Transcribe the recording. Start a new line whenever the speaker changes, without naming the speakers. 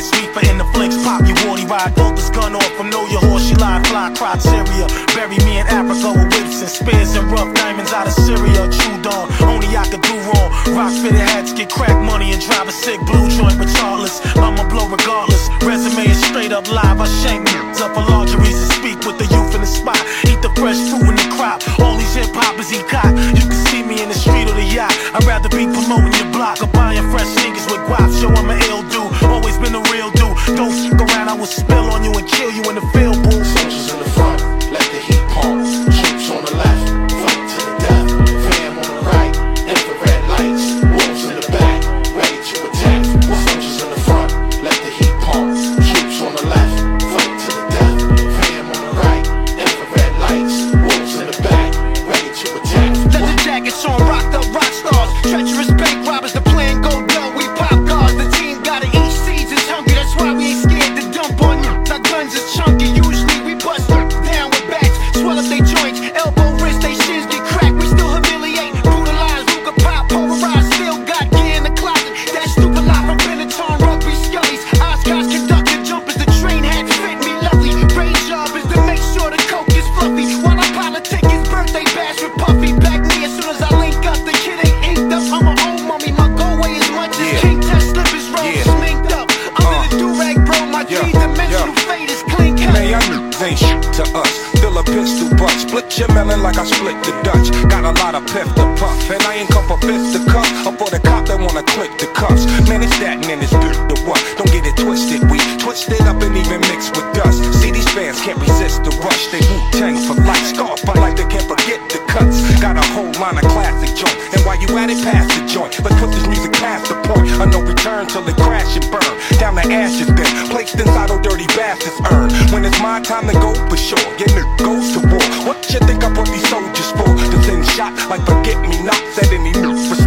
Miss Reefer in the flicks, pop your warty ride, bolt this gun off from know your horse, she lie, fly, criteria. Bury me in Africa with whips and spears and rough diamonds out of Syria. Chewed on, only I could do wrong. Rock fitted hats, get crack money and drive a sick blue joint regardless. I'ma blow regardless. Resume is straight up live. I shank niggas up for lingeries and speak with the youth in the spot. Eat the fresh fruit in the crop. All these hip hoppers he caught. You can see me in the street or the yacht. I'd rather be promoting your block or buying fresh sneakers with guap. Show I'm an ill dude, always been a real dude. Don't stick around, I will spill on you and kill you in the field, boo.
Soldiers in the front, let the heat pump. Troops on the left, fight to the death. Fam on the right, infrared lights. Wolves in the back, ready to attack. Soldiers in the front, let the heat pump. Troops on the left, fight to the death. Fam on the right, infrared lights. Wolves in the back, ready to attack.
Leather jackets on, rocked up rock stars. Treacherous bank robbers, the plan go low. We pop guards, the team gotta eat seeds. It's hungry, that's why we ain't scared to dump on you. Our guns is chunky, usually we bust them down with backs. Swell up they joints, elbow, wrist, they shins get cracked. We still humiliate, brutalize, Ruger pop, polarize. Still got gear in the closet. That stupid lot from Benetton, rugby scullies. Oscars, conductor jumpers, the train hat fit me lovely. Rain job is to make sure the coke is fluffy. While I politic his birthday bash with Puffy. Back me as soon as I link up, the kid ain't inked up. I'm an old mummy, my go way as much as King Test slippers roll sminked up. Under the do-rag, bro, my three-dimensional fate is clean cut.
Man, y'all ain't shit to us. Fill a pistol butt, split your melon like I split the Dutch. Got a lot of piff to puff, and I ain't come for fist to cuff, or for the cop that wanna click the cuffs. Man, it's that and then it's the what? Don't get it twisted, we twist it up and even mix with dust. See, these fans can't resist the rush. They Wu-Tang for life, scar fight like they can't forget the cuts. Got a whole line of classic joint, and while you at it, pass the joint. Let's put this music past the point of no return till it crash and burn down the ashes. Then placed inside old dirty bastards earn. When it's my time to go for sure, your nigga goes to war. What you think I put these soldiers for? To send shot like forget me nots at any new